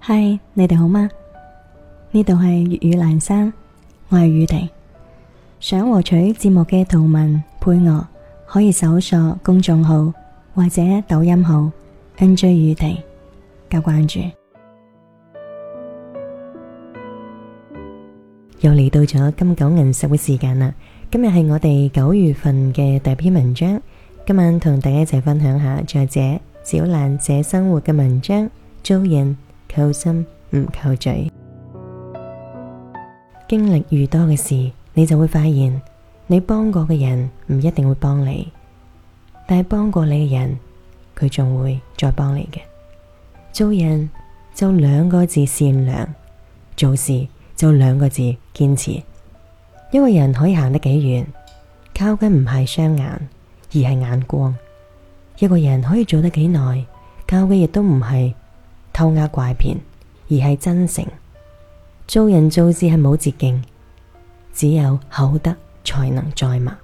嗨，你哋好嗎？呢度係粵語蘭山，我係宇婷。想獲取節目嘅圖文配樂，可以搜索公眾號或者抖音號 NJ 宇婷加關注。又嚟到咗金九銀十嘅時間啦！今日係我哋9月份嘅第一篇文章，今晚同大家一齊分享下作者小蘭寫生活嘅文章。做人靠心唔靠嘴。經歷愈多嘅事，你就會發現，你幫過嘅人唔一定會幫你，但係幫過你嘅人，佢仲會再幫你嘅。做人就2個字善良，做事就2個字堅持。一個人可以行得幾遠，靠嘅唔係雙眼，而係眼光。一個人可以做得幾耐，靠嘅亦都唔係偷呃拐騙，而係真誠。做人做事係冇捷徑，只有厚德才能載物。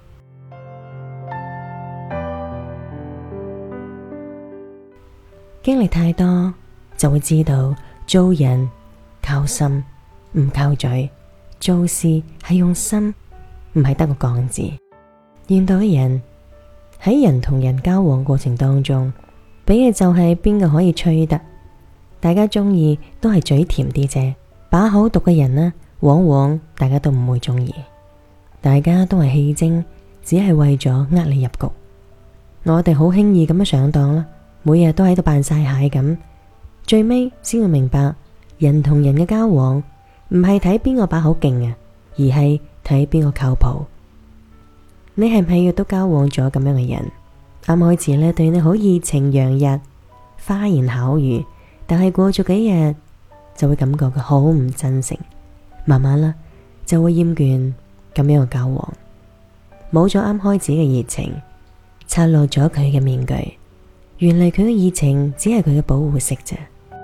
經歷太多就會知道，做人靠心唔靠嘴，做事係用心，唔係得個講字。現代嘅人喺人同人交往過程當中，比嘅就係邊個可以吹得。大家中意都係嘴甜啲啫，把口毒嘅人呢，往往大家都唔會中意。大家都係戲精，只係為咗呃你入局。我哋好輕易咁樣上當啦，每日都喺度扮晒蟹咁，最尾先會明白，人同人嘅交往唔係睇邊個把口勁啊，而係睇邊個靠譜。你係唔係亦都交往咗咁樣嘅人？啱開始呢，對你好熱情洋溢，花言巧語，但係過咗幾日就會感覺佢好唔真誠，慢慢啦就會厭倦咁樣嘅交往，冇咗啱開始嘅熱情，拆落咗佢嘅面具，原嚟佢嘅熱情只係佢嘅保護色啫。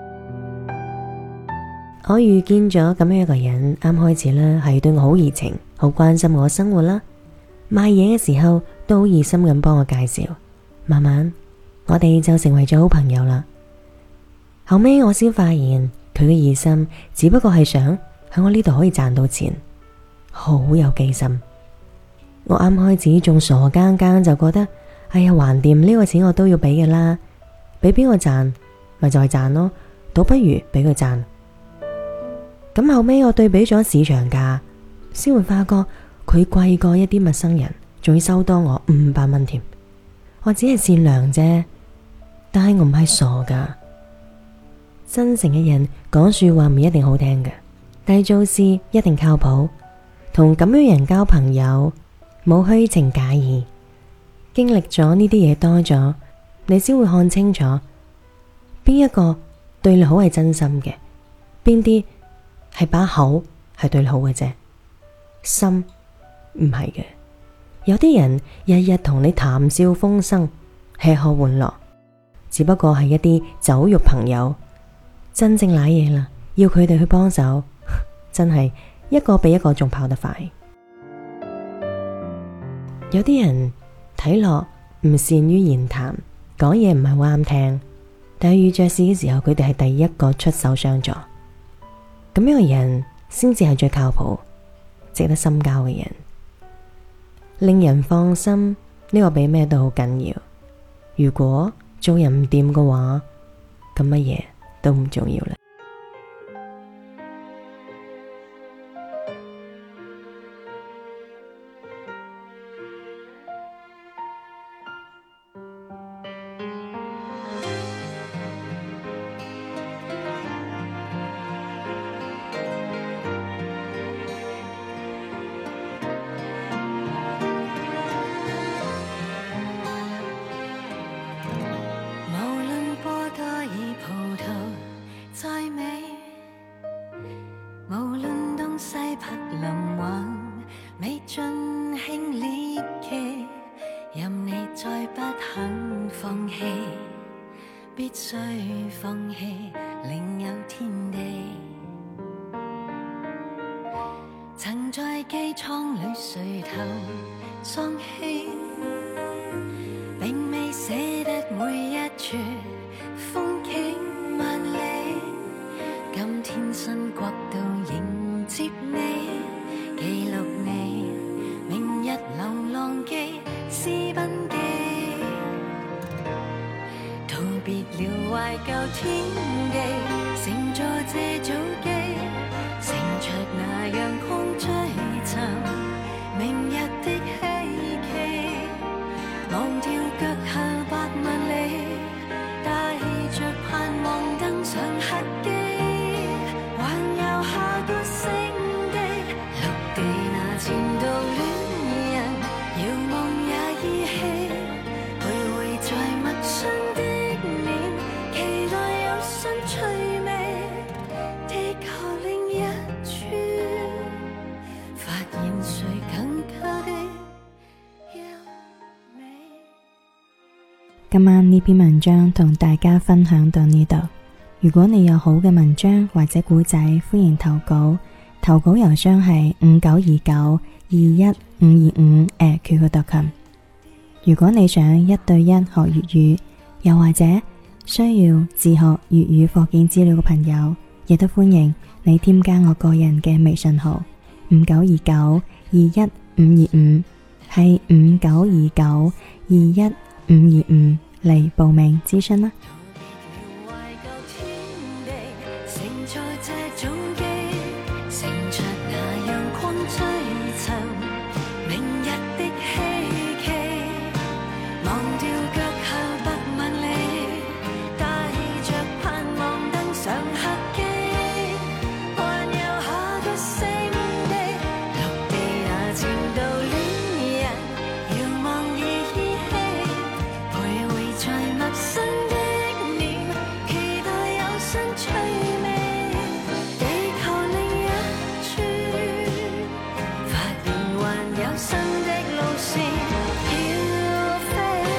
我遇見咗咁樣一個人，啱開始啦係對我好熱情，好關心我生活啦，賣嘢嘅時候都好熱心咁幫我介紹，慢慢我哋就成為咗好朋友啦。後尾我先發現佢嘅熱心只不過係想喺我呢度可以賺到錢，好有機心。我啱開始仲傻更更就覺得，哎呀，橫掂呢個錢我都要俾嘅啦，俾邊個賺咪就係賺咯，倒不如俾佢賺。咁後尾我對比咗市場價，先會發覺佢貴過一啲陌生人，仲要收多我500蚊添。我只係善良啫，但係我唔係傻噶。真誠嘅人講說話唔一定好聽嘅，但係做事一定靠譜。同咁樣人交朋友，冇虛情假意。經歷咗呢啲嘢多咗，你先會看清楚邊一個對你好係真心嘅，邊啲係把口係對你好嘅啫，心唔係嘅。有啲人日日同你談笑風生，吃喝玩樂，只不過係一啲酒肉朋友。真正瀨嘢啦，要佢哋去幫手，真係一個比一個仲跑得快。有啲人睇落唔善於言談，講嘢唔係好啱聽，但係遇着事嘅時候，佢哋係第一個出手相助。咁樣嘅人先至係最靠譜、值得深交嘅人，令人放心。呢個比咩都好緊要。如果做人唔掂嘅話，咁乜嘢都唔重要啦。 未盡興獵奇，任你再不肯放棄，必須放棄另有天地。曾在機艙裏垂頭喪氣，並未捨得每一處風景萬里。 懷舊天地，乘坐這早機，乘着那陽光追尋明日的希冀，忘掉腳下80000里，帶着盼望登上客機，環遊下個星地，陸地那前度戀人，遙望也依稀，徘徊在陌生的臉，期待有新趣味，地球另一處，發現誰更加的優美。 今晚呢篇文章同大家分享到呢度。如果你有好嘅文章或者古仔，歡迎投稿。投稿郵箱係5929215525@qq.com。如果你想1對1學粵語，又或者需要自學粵語課件資料嘅朋友，亦都歡迎你添加我個人嘅微信號5929215525，係5929215525嚟報名諮詢啦。 懷舊天地，乘坐這早機，乘着那陽光追尋明日的希冀，忘掉腳下80000里，帶着盼望登上客機，環遊下個星地，陸地那前度戀人，遙望已依稀，徘徊在陌生的臉，期待有新趣味，地球另一處，發現還有新的路線飄飛。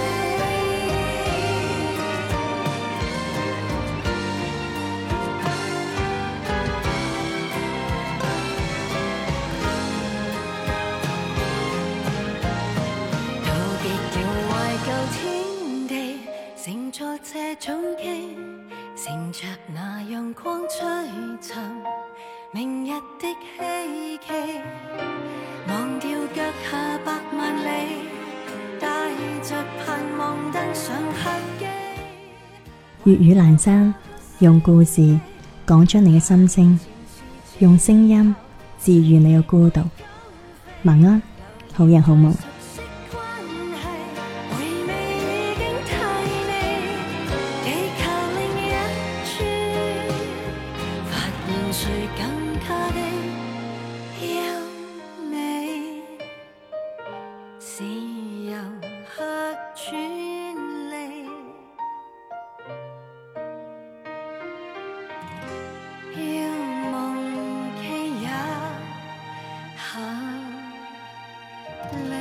到極了懷舊天地，乘坐這早機，乘着那陽光追尋明日的希冀，忘掉腳下80000里，帶着盼望登上客機。 粵語闌珊，用故事講出你嘅心聲，用聲音治愈你嘅孤獨。晚安，好人好夢。 熟悉關係，回味已經太膩，地球另一處，發現誰更加的優美，是遊客專利。要忘記也合理。